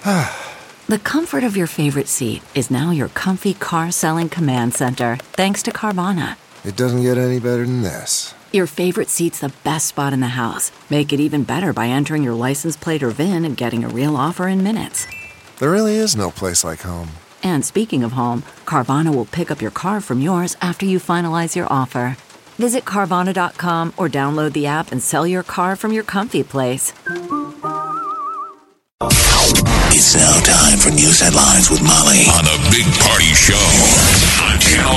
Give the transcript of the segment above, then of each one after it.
The comfort of your favorite seat is now your comfy car selling command center, thanks to Carvana. It doesn't get any better than this. Your favorite seat's the best spot in the house. Make it even better by entering your license plate or VIN and getting a real offer in minutes. There really is no place like home. And speaking of home, Carvana will pick up your car from yours after you finalize your offer. Visit Carvana.com or download the app and sell your car from your comfy place. It's now time for news headlines with Molly on the Big Party Show on Channel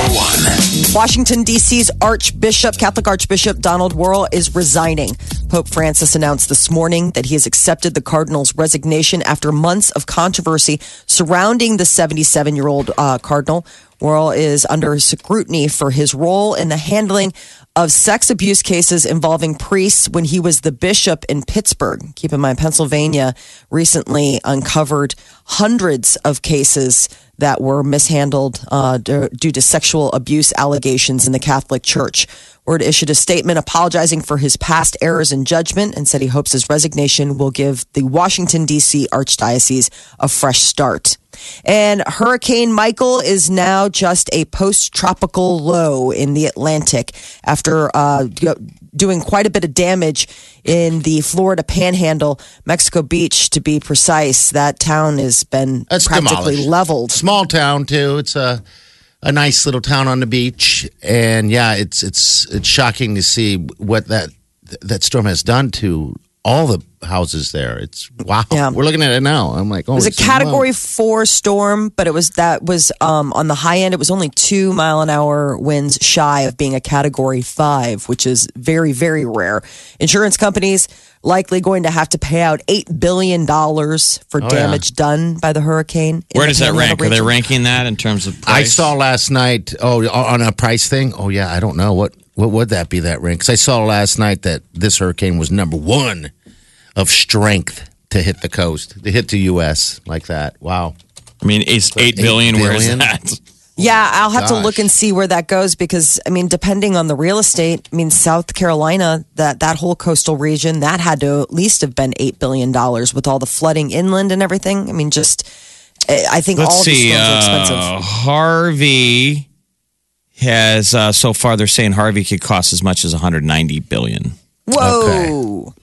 94.1. Washington, D.C.'s Catholic Archbishop Donald Wuerl is resigning. Pope Francis announced this morning that he has accepted the cardinal's resignation after months of controversy surrounding the 77-year-old cardinal. Wuerl is under scrutiny for his role in the handling of sex abuse cases involving priests when he was the bishop in Pittsburgh. Keep in mind, Pennsylvania recently uncovered hundreds of cases that were mishandled due to sexual abuse allegations in the Catholic Church. Wuerl issued a statement apologizing for his past errors in judgment and said he hopes his resignation will give the Washington, D.C. Archdiocese a fresh start. And Hurricane Michael is now just a post-tropical low in the Atlantic after doing quite a bit of damage in the Florida Panhandle, Mexico Beach, to be precise. That town has been practically leveled. Small town, too. It's a nice little town on the beach. And, yeah, it's shocking to see what that storm has done to all the houses there. It's wow. Yeah. We're looking at it now. I'm like, oh, it was a Category 4 storm, but that was on the high end. It was only 2 mile-an-hour winds shy of being a Category 5, which is very, very rare. Insurance companies likely going to have to pay out $8 billion for damage done by the hurricane. Where does that rank? Are they ranking that in terms of price? I saw last night, on a price thing. Oh, yeah, I don't know. What would that be, that rank? Because I saw last night that this hurricane was number 1 of strength to hit the coast, to hit the U.S. like that. Wow. I mean, it's $8 billion. Where is that? Yeah, I'll have to look and see where that goes because, I mean, depending on the real estate, I mean, South Carolina, that whole coastal region, that had to at least have been $8 billion with all the flooding inland and everything. I mean, I think all these storms are expensive. Harvey has, so far they're saying Harvey could cost as much as $190 billion. Whoa. Okay.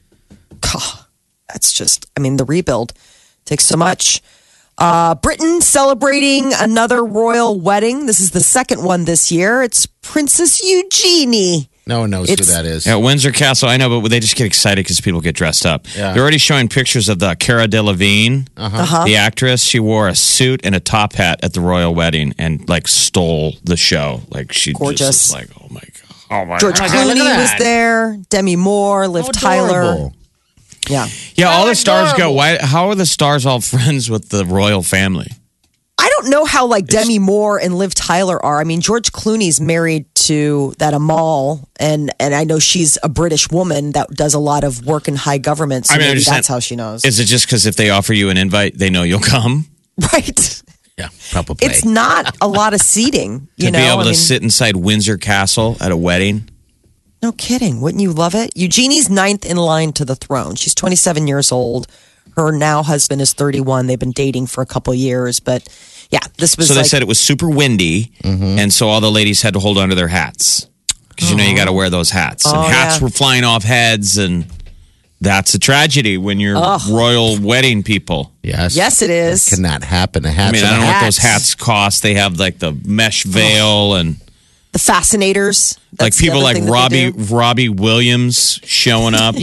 God, that's just, I mean, the rebuild takes so much. Britain celebrating another royal wedding. This is the second one this year. It's Princess Eugenie. No one knows who that is. Yeah, Windsor Castle, I know, but they just get excited because people get dressed up. Yeah. They're already showing pictures of the Cara Delevingne, the actress. She wore a suit and a top hat at the royal wedding and like stole the show. Like she gorgeous. Just was like, oh my God. Oh my George Clooney was there. Demi Moore, Liv Tyler. Yeah. Yeah, all the stars go. How are the stars all friends with the royal family? I don't know how Demi Moore and Liv Tyler are. I mean, George Clooney's married to that Amal, and I know she's a British woman that does a lot of work in high government. So maybe that's how she knows. Is it just because if they offer you an invite, they know you'll come? Right. Yeah, probably. It's not a lot of seating. To be able to sit inside Windsor Castle at a wedding. No kidding. Wouldn't you love it? Eugenie's 9th in line to the throne. She's 27 years old. Her now husband is 31. They've been dating for a couple years. But yeah, this was So they said it was super windy. And so all the ladies had to hold onto their hats. Because you got to wear those hats. And hats were flying off heads. And that's a tragedy when you're royal wedding people. Yes. Yes, it is. That cannot happen. I mean, I don't know what those hats cost. They have the mesh veil and... The fascinators. That's people like Robbie Williams showing up.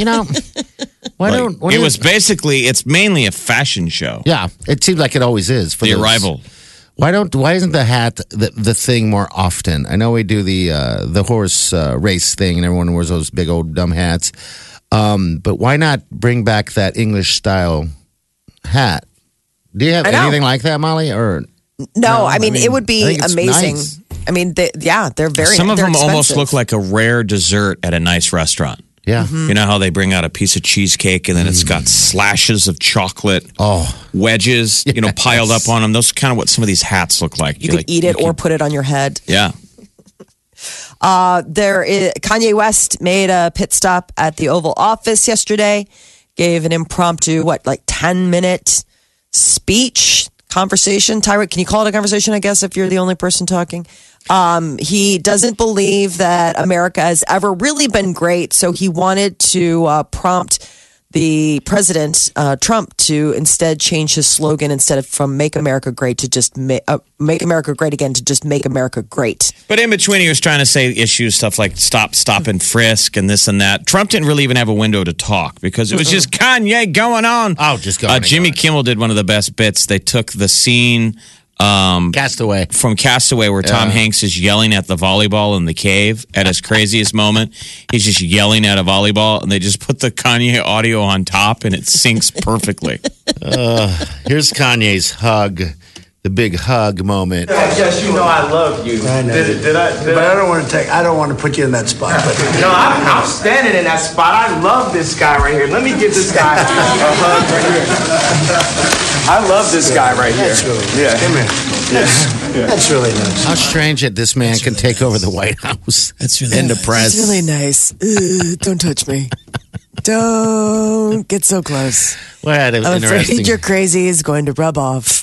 It was basically, it's mainly a fashion show. Yeah, it seems like it always is. For the arrival. Why isn't the hat the thing more often? I know we do the horse race thing and everyone wears those big old dumb hats. But why not bring back that English style hat? Do you have anything like that, Molly? Or no, I mean, it would be amazing. Nice. I mean, they're very. Some of them expensive. almost look like a rare dessert at a nice restaurant. Yeah, you know how they bring out a piece of cheesecake and then it's got slashes of chocolate, wedges, piled up on them. Those are kind of what some of these hats look like. You could eat it or put it on your head. Yeah. Kanye West made a pit stop at the Oval Office yesterday. Gave an impromptu 10-minute speech, conversation. Tyrant, can you call it a conversation, I guess, if you're the only person talking? He doesn't believe that America has ever really been great. So he wanted to prompt the president, Trump, to instead change his slogan instead of from Make America Great to just Make America Great Again to just Make America Great. But in between, he was trying to say issues, stuff like stop, and frisk and this and that. Trump didn't really even have a window to talk because it was just Kanye going on. Oh, just going Jimmy Kimmel did one of the best bits. They took the scene Castaway. From Castaway where Tom Hanks is yelling at the volleyball in the cave at his craziest moment. He's just yelling at a volleyball and they just put the Kanye audio on top and it syncs perfectly. Here's Kanye's hug. The big hug moment. Yes, you know I love you. I know. Did I? But I don't want to put you in that spot. But No, I'm standing in that spot. I love this guy right here. Let me give this guy a hug right here. I love this guy right here. That's really nice. Yeah. Come here. That's really nice. How strange that this man can take over the White House. That's really and the press. It's really nice. Don't touch me. Don't get so close. What an I'm interesting. afraid your crazy is going to rub off.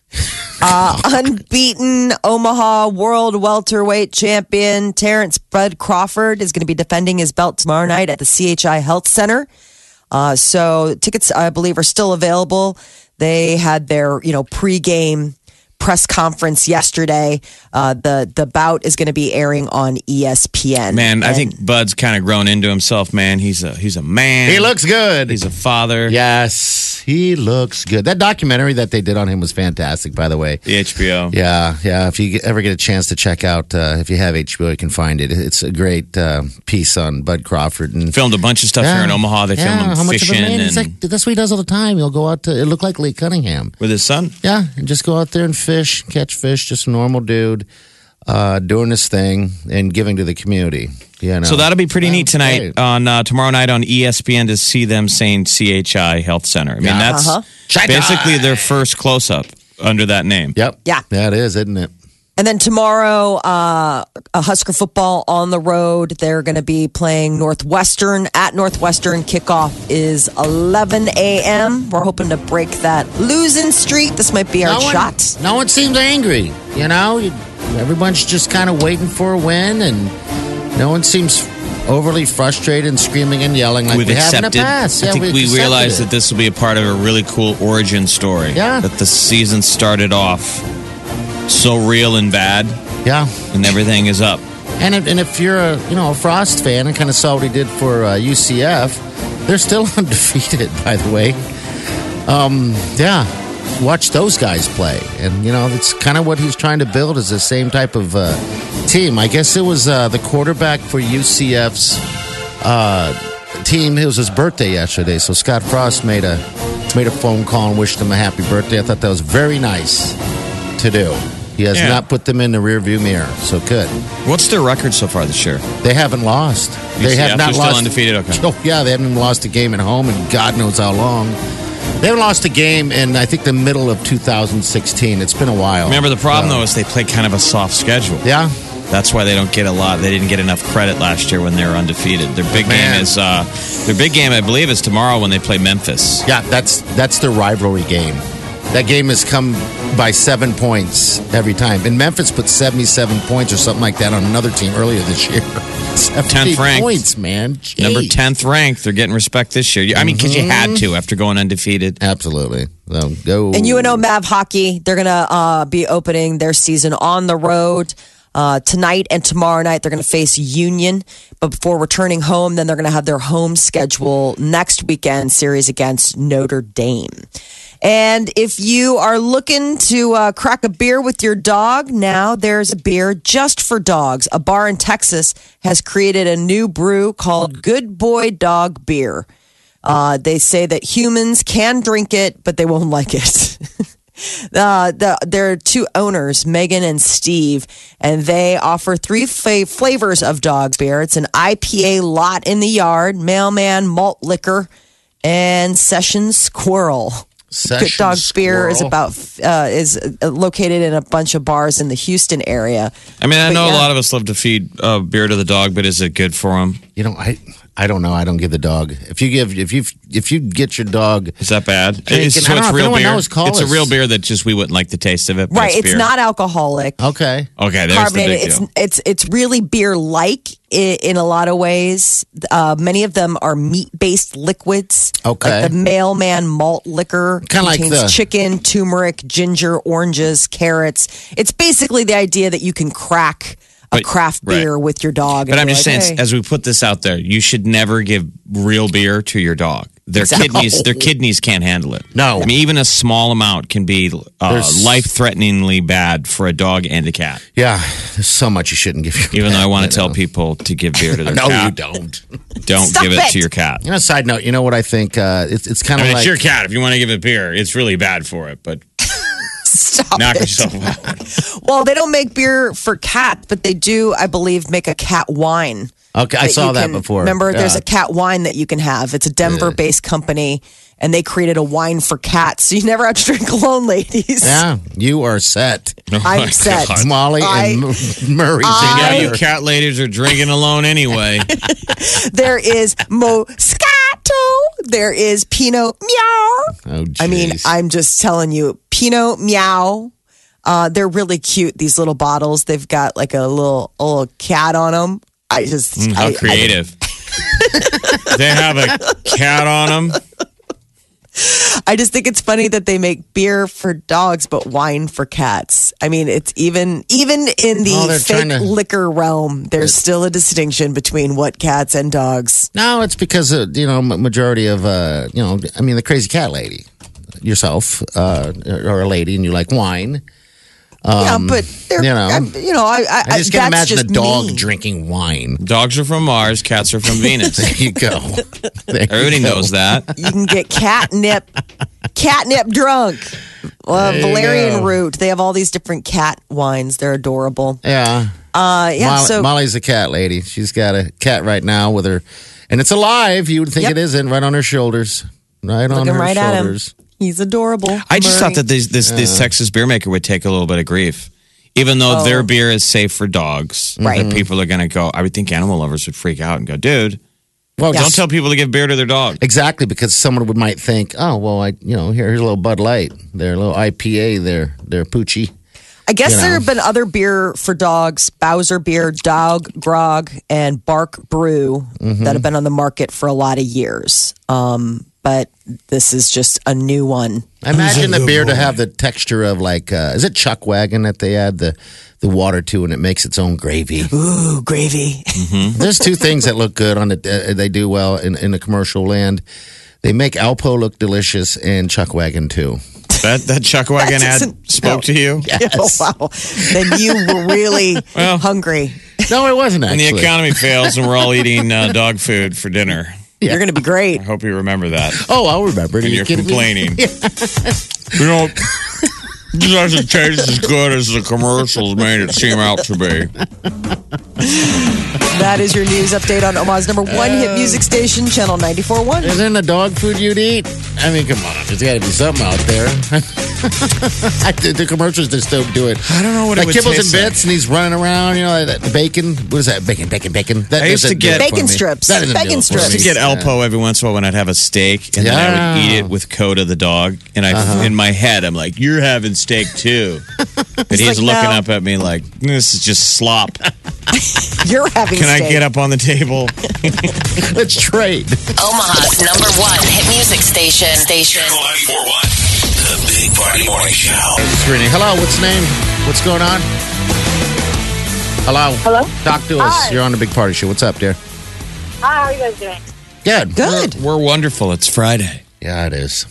Unbeaten Omaha World Welterweight Champion Terrence Bud Crawford is going to be defending his belt tomorrow night at the CHI Health Center. So tickets, I believe, are still available. They had their, pregame press conference yesterday. The bout is going to be airing on ESPN. Man, I think Bud's kind of grown into himself, man. He's a man. He looks good. He's a father. Yes, he looks good. That documentary that they did on him was fantastic, by the way. The HBO. Yeah. If you ever get a chance to check out, if you have HBO, you can find it. It's a great piece on Bud Crawford. And filmed a bunch of stuff here in Omaha. They filmed him how much fishing of a man? and He's like, that's what he does all the time. He'll go out to. It looked like Lake Cunningham. with his son. Yeah, and just go out there and fish, catch fish. Just a normal dude doing his thing and giving to the community. So that'll be pretty neat tonight great. on tomorrow night on ESPN to see them saying CHI Health Center. I mean, that's basically their first close up under that name. Yep. Yeah. That is, isn't it? And then tomorrow, a Husker football on the road. They're going to be playing Northwestern at Northwestern. Kickoff is 11 a.m. We're hoping to break that losing streak. This might be our shot. No one seems angry. Everyone's just kind of waiting for a win, and no one seems overly frustrated and screaming and yelling like We've we have in the accepted. past. I think we accepted realized it. that this will be a part of a really cool origin story. Yeah. That the season started off so real and bad, Yeah. and everything is up. And if you're a Frost fan and kind of saw what he did for UCF, they're still undefeated, by the way. Watch those guys play, and it's kind of what he's trying to build is the same type of team. I guess it was the quarterback for UCF's team. It was his birthday yesterday, so Scott Frost made a phone call and wished him a happy birthday. I thought that was very nice to do. He has not put them in the rearview mirror, so good. What's their record so far this year? They haven't lost. They have not they're lost. still undefeated? Okay. Oh, yeah, they haven't lost a game at home in God knows how long. They haven't lost a game in, I think, the middle of 2016. It's been a while. Remember, the problem, though, is they play kind of a soft schedule. Yeah. That's why they don't get a lot. They didn't get enough credit last year when they were undefeated. Their big game, I believe, is tomorrow when they play Memphis. Yeah, that's their rivalry game. That game has come by 7 points every time. And Memphis put 77 points or something like that on another team earlier this year. 10th ranked. Points, man. Jeez. Number 10th ranked. They're getting respect this year. I mean, because you had to after going undefeated. Absolutely. So go. And UNO Mav Hockey, they're going to be opening their season on the road. Tonight and tomorrow night, they're going to face Union. But before returning home, then they're going to have their home schedule next weekend series against Notre Dame. And if you are looking to crack a beer with your dog, now there's a beer just for dogs. A bar in Texas has created a new brew called Good Boy Dog Beer. They say that humans can drink it, but they won't like it. There are two owners, Megan and Steve, and they offer three flavors of dog beer. It's an IPA lot in the yard, mailman malt liquor, and session squirrel. Good Dog Beer is is located in a bunch of bars in the Houston area. I mean, I know a lot of us love to feed beer to the dog, but is it good for them? I don't know. I don't give the dog. If you get your dog, is that bad? Drinking, So I don't it's know, real if anyone beer. knows, call It's a us. real beer that just we wouldn't like the taste of it. But Right, it's beer. not alcoholic. okay. Okay, there's Carbonated. the big deal. It's really beer-like in a lot of ways. Many of them are meat-based liquids. Okay. Like the Mailman malt liquor Kinda like contains the- chicken, turmeric, ginger, oranges, carrots. It's basically the idea that you can crack a But- craft right. beer with your dog. But and I'm be just like, saying, hey. as we put this out there, you should never give real beer to your dog. Their kidneys can't handle it. No. I mean, even a small amount can be There's- life-threateningly bad for a dog and a cat. Yeah, there's so much you shouldn't give your Even though I pet, want you to tell know. people to give beer to their No, cat. you don't. Don't Stop give it it. to your cat. You know, side note, you know what I think? It's kind I of mean, like it's your cat. If you want to give it beer, it's really bad for it. But Stop knock it. yourself out. Well, they don't make beer for cats, but they do, I believe, make a cat wine. Okay, I that saw you that can- before. Remember, there's Yeah. a cat wine that you can have. It's a Denver-based company, and they created a wine for cats, so you never have to drink alone, ladies. Yeah, you are set. Oh I'm my set. God. Molly and Murray Yeah, you together. cat ladies are drinking alone anyway. There is Moscato. There is Pinot Meow. Oh, I mean, jeez. I'm just telling you, Pinot Meow. They're really cute. These little bottles. They've got like a little cat on them. I just How creative. They have a cat on them. I just think it's funny that they make beer for dogs but wine for cats. I mean, it's even in Oh, they're the trying fake to- liquor realm, there's still a distinction between what cats and dogs. No, it's because majority of I mean, the crazy cat lady, yourself, or a lady, and you like wine. Yeah, but they're, I just can't that's imagine a just dog me. drinking wine. Dogs are from Mars, cats are from Venus. There you go. There you Everybody go. knows that. You can get catnip drunk. There you Valerian go. root. They have all these different cat wines. They're adorable. Yeah. Molly's a cat lady. She's got a cat right now with her, and it's alive. You would think Yep. it isn't, right on her shoulders. Right on Looking her right at him. shoulders. He's adorable. I just Murray. thought that this Texas beer maker would take a little bit of grief. Even though Oh. their beer is safe for dogs, Right. and people are going to go. I would think animal lovers would freak out and go, dude, Well, don't tell people to give beer to their dog. Exactly, because someone might think, oh, well, here's a little Bud Light, their little IPA, their Poochie. I guess you know. there have been other beer for dogs, Bowser Beer, Dog Grog, and Bark Brew that have been on the market for a lot of years. But this is just a new one. I imagine the beer to have the texture of like, is it Chuck Wagon that they add the water to and it makes its own gravy? Ooh, gravy. There's two things that look good on it. They do well in the commercial land. They make Alpo look delicious and Chuck Wagon too. That Chuck Wagon ad doesn't- spoke to you? Oh, wow. Then you were really Well. hungry. No, it wasn't When actually. the economy fails and we're all eating dog food for dinner. You're going to be great. I hope you remember that. Oh, I'll remember. And Are you you're kidding me? complaining. This doesn't taste as good as the commercials made it seem out to be. That is your news update on Omaha's number one hit music station, Channel 94.1. Isn't the dog food you'd eat? I mean, come on. There's got to be something out there. The commercials just don't do it. I don't know what it like would Kibbles and taste like. Bits, and he's running around. That bacon. What is that? Bacon. That I used to doesn't do get- it for Bacon me. strips. That doesn't do Bacon it for strips. To me. get Alpo every once in a while when I'd have a steak, and then I would eat it with Coda the dog. And in my head, I'm like, "You're having steak too," but he's like, looking "No." up at me like, "This is just slop." You're having Can I steak. get up on the table? Let's trade. Omaha's number one hit music station. Channel 94.1. The Big Party Morning Show. It's Renee. Hello. What's the name? What's going on? Hello. Hello? Talk to us. Hi. You're on the Big Party Show. What's up, dear? Hi, how are you guys doing? Good. Good. We're wonderful. It's Friday. Yeah, it is.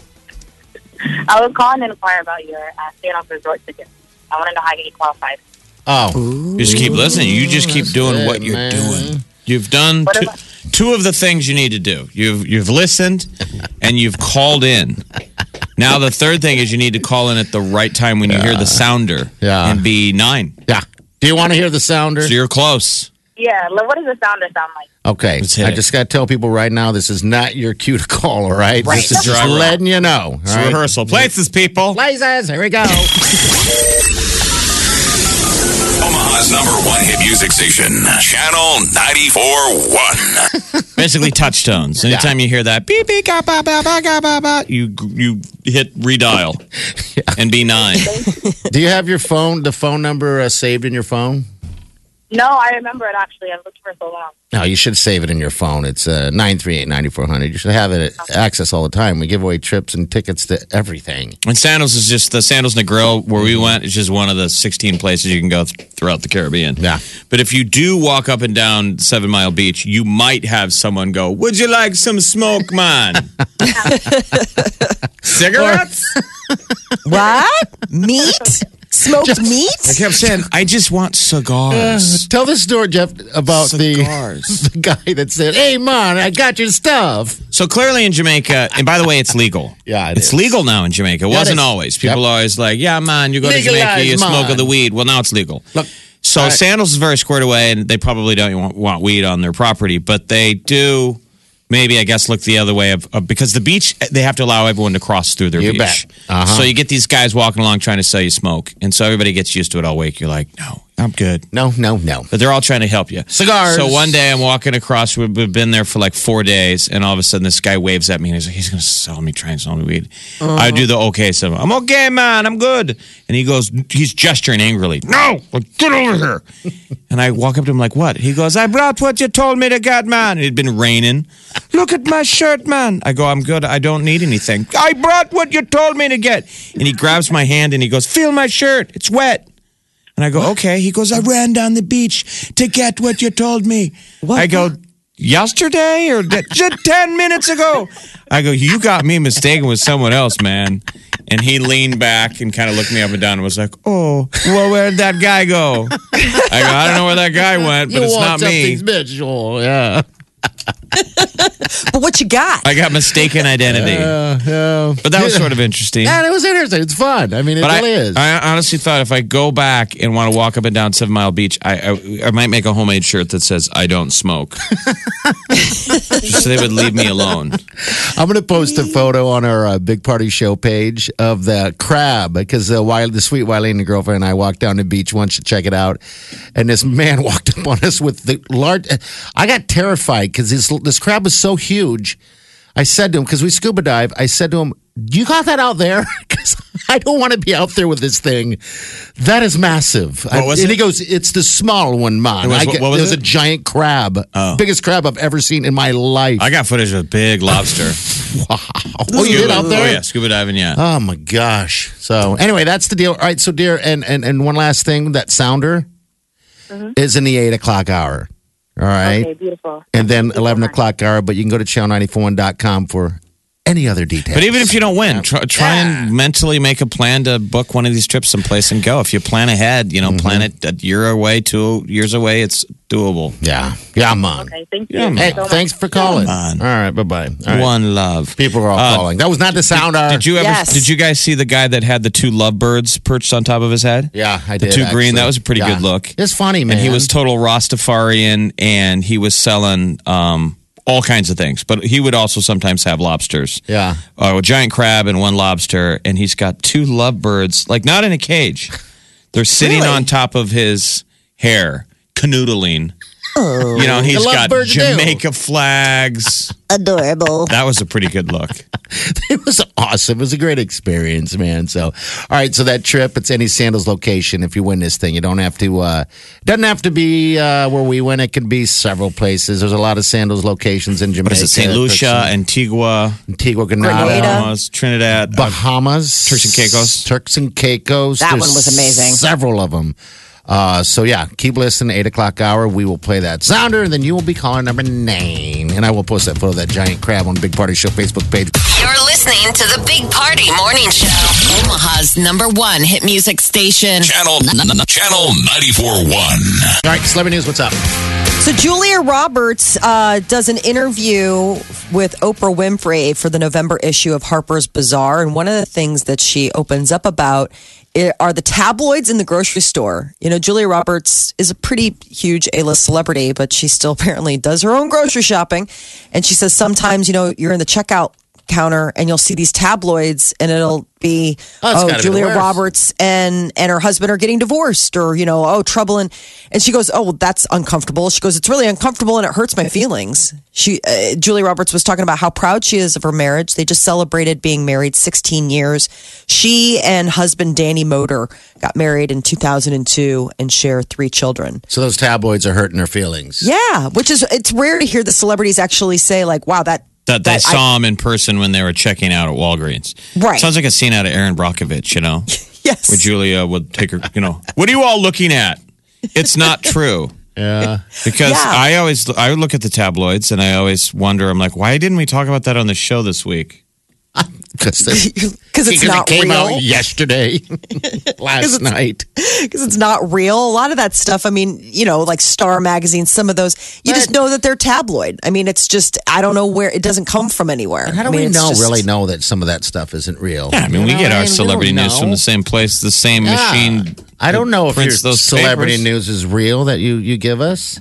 I was calling to inquire about your staying off resort ticket. I want to know how you get qualified. Oh. You just keep listening. You just keep doing what you're man. doing. You've done What two of the things you need to do. You've listened and you've called in. Now the third thing is you need to call in at the right time when you hear the sounder and be 9. Yeah. Do you want to hear the sounder? So you're close. Yeah, what does the sounder sound like? Okay. Let's hit I it. just got to tell people right now, this is not your cue to call, all right? Right. This is just Driver. letting you know. It's all right? rehearsal. Places, people. Places. Here we go. Omaha's Omaha's #1 hit music station, Channel 94.1. Basically, touchstones. Anytime you hear that, beep, beep, ga, ba, ba, ba, ga, ba, ba, you hit redial and be 9. Do you have your phone, the phone number saved in your phone? No, I remember it actually. I've looked for so long. No, you should save it in your phone. It's 938-9400. You should have it access all the time. We give away trips and tickets to everything. And Sandals is just the Sandals Negril where we went. It's just one of the 16 places you can go throughout the Caribbean. Yeah. But if you do walk up and down 7 Mile Beach, you might have someone go, "Would you like some smoke, man?" Cigarettes? What? Meat? Smoked meat? I kept saying, "I just want cigars." Tell the story, Jeff, about Cigars. the guy that said, "Hey, man, I got your stuff." So clearly in Jamaica, and by the way, it's legal. Yeah, it's legal now in Jamaica. It wasn't always. People are always like, "Yeah, man, you go to Jamaica, you smoke the weed." Well, now it's legal. Look, so Sandals is very squared away, and they probably don't want weed on their property, but they do. Maybe, I guess, look the other way of because the beach, they have to allow everyone to cross through their beach. Bet. So you get these guys walking along trying to sell you smoke. And so everybody gets used to it all week. You're like, "No, I'm good." No. But they're all trying to help you. Cigars. So one day I'm walking across. We've been there for like 4 days. And all of a sudden this guy waves at me. And he's like, he's going to try and sell me weed. I do the okay. So I'm okay, man. I'm good. And he goes, he's gesturing angrily. "No, get over here." And I walk up to him like, "What?" He goes, "I brought what you told me to get, man." It had been raining. "Look at my shirt, man." I go, "I'm good. I don't need anything." "I brought what you told me to get." And he grabs my hand and he goes, "Feel my shirt. It's wet." And I go, "Okay." He goes, "I ran down the beach to get what you told me." I go, "Yesterday or just 10 minutes ago?" I go, "You got me mistaken with someone else, man." And he leaned back and kind of looked me up and down and was like, "Oh, well, where'd that guy go?" I go, "I don't know where that guy went, but it's not me." Yeah. But what you got? I got mistaken identity. But that was sort of interesting. Yeah, it was interesting. It's fun. I mean, it really is. I honestly thought if I go back and want to walk up and down 7 Mile Beach, I might make a homemade shirt that says, "I don't smoke." Just so they would leave me alone. I'm going to post a photo on our Big Party Show page of the crab because the sweet Wileen, the girlfriend, and I walked down the beach once to check it out. And this man walked up on us with the large. I got terrified because this crab was so huge. I said to him, because we scuba dive, I said to him, "You got that out there?" Because I don't want to be out there with this thing. That is massive. Was and it? he goes, "It's the small one, man." What was it was it? a giant crab. Biggest crab I've ever seen in my life. I got footage of a big lobster. Wow. Oh, you did out there? Oh, yeah. Scuba diving, yeah. Oh, my gosh. So, anyway, that's the deal. All right, so, dear, and one last thing. That sounder is in the 8 o'clock hour. All right? Okay, beautiful. And then 11 o'clock hour, but you can go to channel941.com for any other details. But even if you don't win, try and mentally make a plan to book one of these trips someplace and go. If you plan ahead, plan it a year away, 2 years away, it's doable. Yeah. Yeah, man. Okay, thank you. Yeah, Hey, so much. thanks for calling. Yeah, man. All right, bye-bye. All right. One love. People are all calling. That was not the sounder. Did you ever? Yes. Did you guys see the guy that had the 2 lovebirds perched on top of his head? Yeah, I The did. 2 green. actually. That was a pretty good look. It's funny, man. And he was total Rastafarian, and he was selling all kinds of things. But he would also sometimes have lobsters. Yeah. A giant crab and 1 lobster, and he's got 2 lovebirds, like not in a cage. They're sitting on top of his hair, canoodling. Oh. He's got lovebirds do. Jamaica flags. Adorable. That was a pretty good look. It was awesome. It was a great experience, man. So, all right. So that trip, it's any Sandals location. If you win this thing, you don't have to. Doesn't have to be where we went. It can be several places. There's a lot of Sandals locations in Jamaica. What is it? St. Lucia, Antigua, Grenada, Bahamas, Trinidad, Bahamas, Turks and Caicos. Turks and Caicos. That There's one was amazing. Several of them. So yeah, keep listening. 8 o'clock hour, we will play that sounder, and then you will be calling number 9, and I will post that photo of that giant crab on Big Party Show Facebook page. You're listening to the Big Party Morning Show. Omaha's #1 hit music station. Channel 94.1. All right, celebrity news. What's up? So Julia Roberts does an interview with Oprah Winfrey for the November issue of Harper's Bazaar, and one of the things that she opens up about are the tabloids in the grocery store. Julia Roberts is a pretty huge A-list celebrity, but she still apparently does her own grocery shopping. And she says sometimes, you're in the checkout counter and you'll see these tabloids and it'll be, Julia Roberts and her husband are getting divorced, or, trouble. And she goes, oh, well, that's uncomfortable. She goes, it's really uncomfortable and it hurts my feelings. Julia Roberts was talking about how proud she is of her marriage. They just celebrated being married 16 years. She and husband Danny Moder got married in 2002 and share 3 children. So those tabloids are hurting her feelings. Yeah, it's rare to hear the celebrities actually say like, wow, that they saw him in person when they were checking out at Walgreens. Right. Sounds like a scene out of Erin Brockovich, Yes. Where Julia would take her, what are you all looking at? It's not true. Yeah. Because I look at the tabloids and I always wonder, I'm like, why didn't we talk about that on the show this week? Because it's not real. It came out yesterday, last night. Because it's not real. A lot of that stuff, I mean, like Star Magazine, some of those, you just know that they're tabloid. I mean, it's just, I don't know where, it doesn't come from anywhere. And how do we really know that some of that stuff isn't real? Yeah, I mean, we get our celebrity news from the same place, the same machine. I don't know if your celebrity papers. news is real that you give us.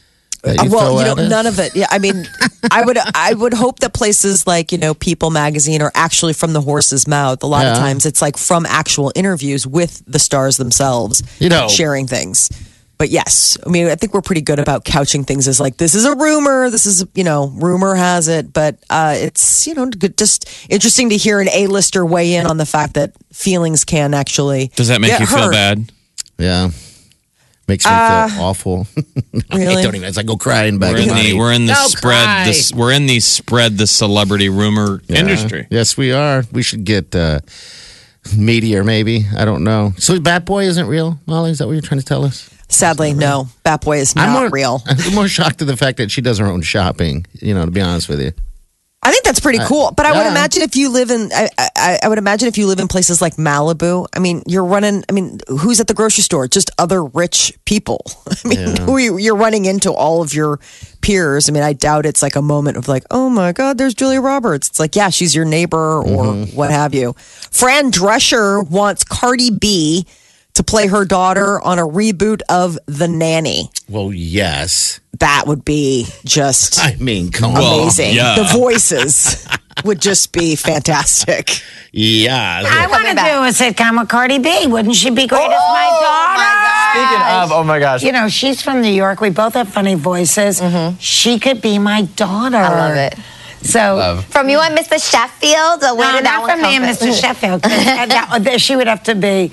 None of it. Yeah, I mean, I would hope that places like, People Magazine are actually from the horse's mouth. A lot of times it's like from actual interviews with the stars themselves, sharing things. But yes, I mean, I think we're pretty good about couching things as like, this is a rumor. This is, rumor has it. But it's, just interesting to hear an A-lister weigh in on the fact that feelings can actually Does that make you feel bad? Yeah. Makes me feel awful. Really? I don't even. It's like go crying back. We're in the spread the celebrity rumor industry. Yes, we are. We should get Meteor, maybe. I don't know. So Bat Boy isn't real, Molly? Is that what you're trying to tell us? Sadly, no. Bat Boy is not real. I'm more shocked at the fact that she does her own shopping. To be honest with you. I think that's pretty cool. But I would imagine if you live in, I would imagine if you live in places like Malibu, I mean, who's at the grocery store? Just other rich people. I mean, you're running into all of your peers. I mean, I doubt it's like a moment of like, oh my God, there's Julia Roberts. It's like, yeah, she's your neighbor or what have you. Fran Drescher wants Cardi B to play her daughter on a reboot of The Nanny. Well, yes. That would be just come on. Amazing. Yeah. The voices would just be fantastic. Yeah. I want to do a sitcom with Cardi B. Wouldn't she be great as my daughter? Speaking of, oh my gosh. She's from New York. We both have funny voices. Mm-hmm. She could be my daughter. I love it. So from you and Mr. Sheffield, or where did that one come from? Not from me and Mr. Sheffield. She would have to be.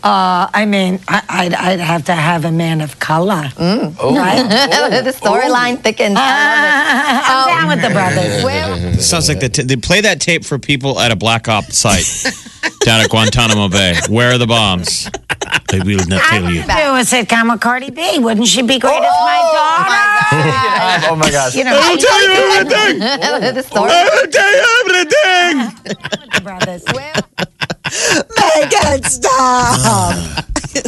I'd have to have a man of color. Right? The storyline thickens. I'm down with the brothers. Sounds like they play that tape for people at a black ops site down at Guantanamo Bay. Where are the bombs? I will not tell you. I would do a sitcom with Cardi B. Wouldn't she be great as my daughter? Oh my gosh. I'll tell you everything. I'll tell you everything. Brothers. Megan, stop.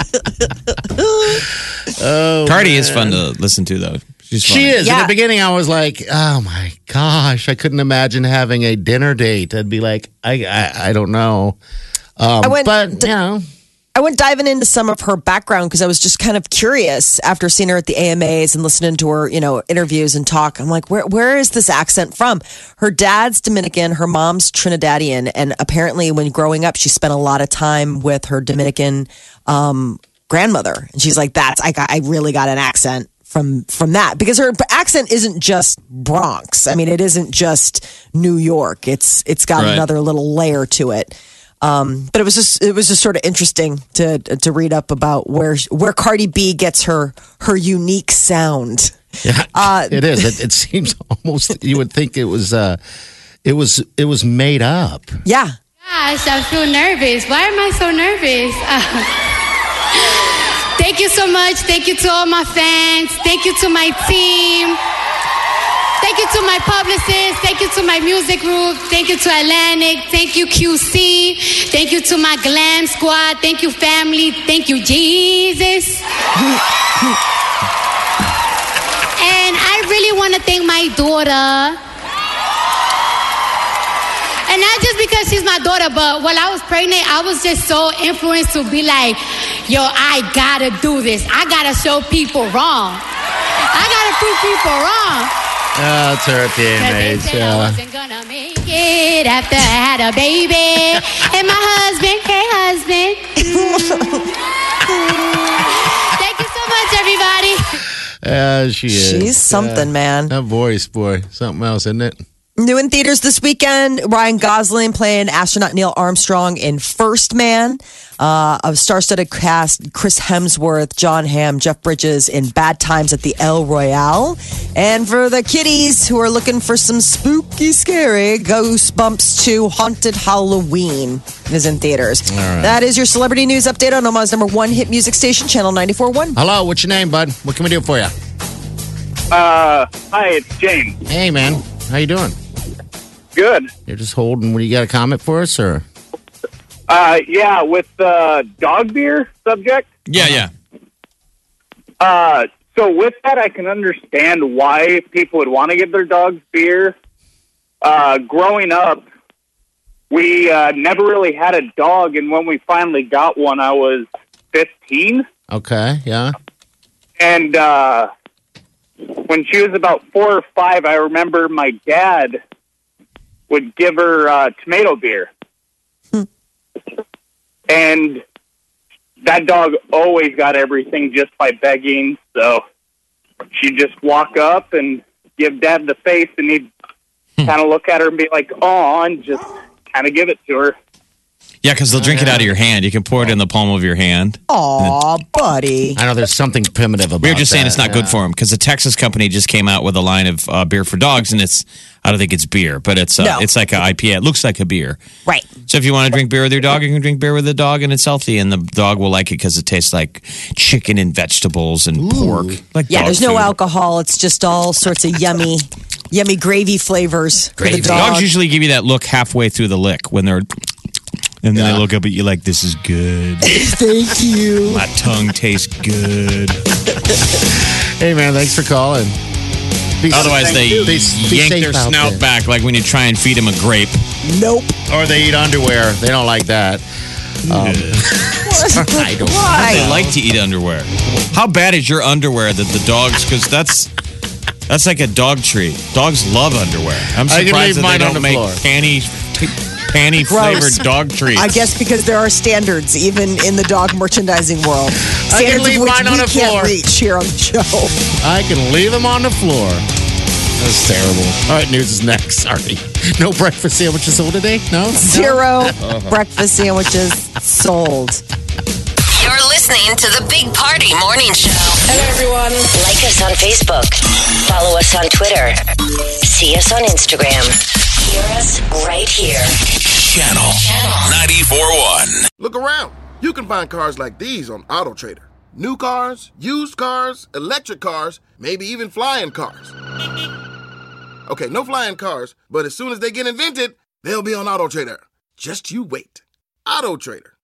Cardi is fun to listen to, though. She is. In the beginning, I was like, oh my gosh, I couldn't imagine having a dinner date. I'd be like, I don't know. I went diving into some of her background because I was just kind of curious after seeing her at the AMAs and listening to her, interviews and talk. I'm like, where is this accent from? Her dad's Dominican, her mom's Trinidadian, and apparently when growing up, she spent a lot of time with her Dominican grandmother. And she's like, I really got an accent from that, because her accent isn't just Bronx. I mean, it isn't just New York. It's got another little layer to it. But it was just sort of interesting to read up about where Cardi B gets her unique sound. Yeah, it is. It seems almost you would think it was made up. Yeah. Gosh, I feel nervous. Why am I so nervous? Thank you so much. Thank you to all my fans. Thank you to my team. Thank you to my publicist. Thank you to my music group. Thank you to Atlantic. Thank you, QC. Thank you to my glam squad. Thank you, family. Thank you, Jesus. And I really want to thank my daughter. And not just because she's my daughter, but while I was pregnant, I was just so influenced to be like, yo, I gotta do this. I gotta show people wrong. I gotta prove people wrong. That's her Cause they teenage. said I wasn't gonna make it after I had a baby. And my husband, hey husband. Thank you so much, everybody. Yeah, she is. She's something, man. That voice, boy. Something else, isn't it? New in theaters this weekend, Ryan Gosling playing astronaut Neil Armstrong in First Man. A star-studded cast, Chris Hemsworth, John Hamm, Jeff Bridges in Bad Times at the El Royale. And for the kiddies who are looking for some spooky, scary, Goosebumps 2 Haunted Halloween is in theaters. All right. That is your celebrity news update on Omaha's number one hit music station, Channel 94.1. Hello, what's your name, bud? What can we do for you? Hi, it's James. Hey, man. How you doing? Good. You're just holding. What, you got a comment for us, or? Yeah, with the dog beer subject. Yeah. So with that, I can understand why people would want to give their dogs beer. Growing up, we never really had a dog, and when we finally got one, I was 15. Okay, yeah. And when she was about 4 or 5, I remember my dad would give her tomato beer. And that dog always got everything just by begging. So she'd just walk up and give Dad the face, and he'd kind of look at her and be like, "Aw," and just kind of give it to her. Yeah, because they'll drink it out of your hand. You can pour it in the palm of your hand. Aw, buddy. I know there's something primitive about We were just saying it's not that, good for them because the Texas company just came out with a line of beer for dogs, and I don't think it's beer, but it's like an IPA. It looks like a beer. Right. So if you want to drink beer with your dog, you can drink beer with the dog, and it's healthy, and the dog will like it because it tastes like chicken and vegetables and pork. Like Yeah, dog there's no food. alcohol. It's just all sorts of yummy gravy flavors for the dog. Dogs usually give you that look halfway through the lick when they're... And then they look up at you like, "This is good. Thank you. My tongue tastes good." Hey, man, thanks for calling. Otherwise, they yank their snout back like when you try and feed them a grape. Nope. Or they eat underwear. They don't like that. I don't Why? They like to eat underwear. How bad is your underwear that the dogs? Because that's like a dog treat. Dogs love underwear. I'm I can surprised leave that they mine on don't the make floor. panty flavored dog treats. I guess because there are standards even in the dog merchandising world. I can Standards leave of which mine on we the can't floor. reach here on the show. I can leave them on the floor. That's terrible. All right, news is next. Sorry. No breakfast sandwiches sold today? No? Zero breakfast sandwiches sold. You're listening to the Big Party Morning Show. Hello, everyone. Like us on Facebook. Follow us on Twitter. See us on Instagram. Hear us right here. Channel 94.1. Look around. You can find cars like these on AutoTrader. New cars, used cars, electric cars, maybe even flying cars. Okay, no flying cars, but as soon as they get invented, they'll be on AutoTrader. Just you wait. AutoTrader.